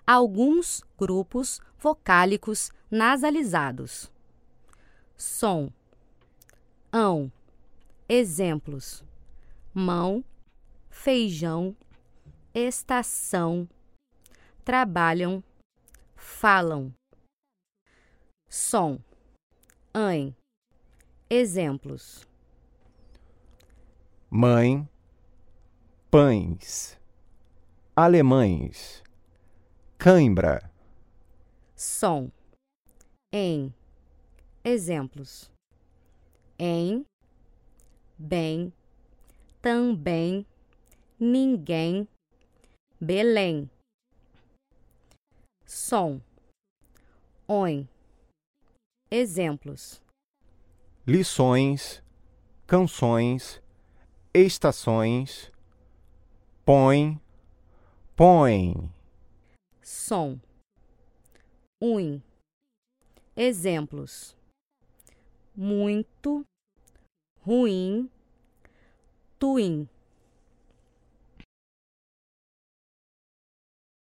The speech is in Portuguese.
alguns grupos vocálicos nasalizados. Som, ão. Exemplos: mão, feijão, estação, trabalham, falam. Som, ãe. Exemplos: mãe, pães, alemães, cãibra. som, em. Exemplos: em, bem, também, ninguém, Belém. Som, on. Exemplos: Lições, canções, estações, põe, põe. som, ui. Exemplos: muito, ruim, tuim.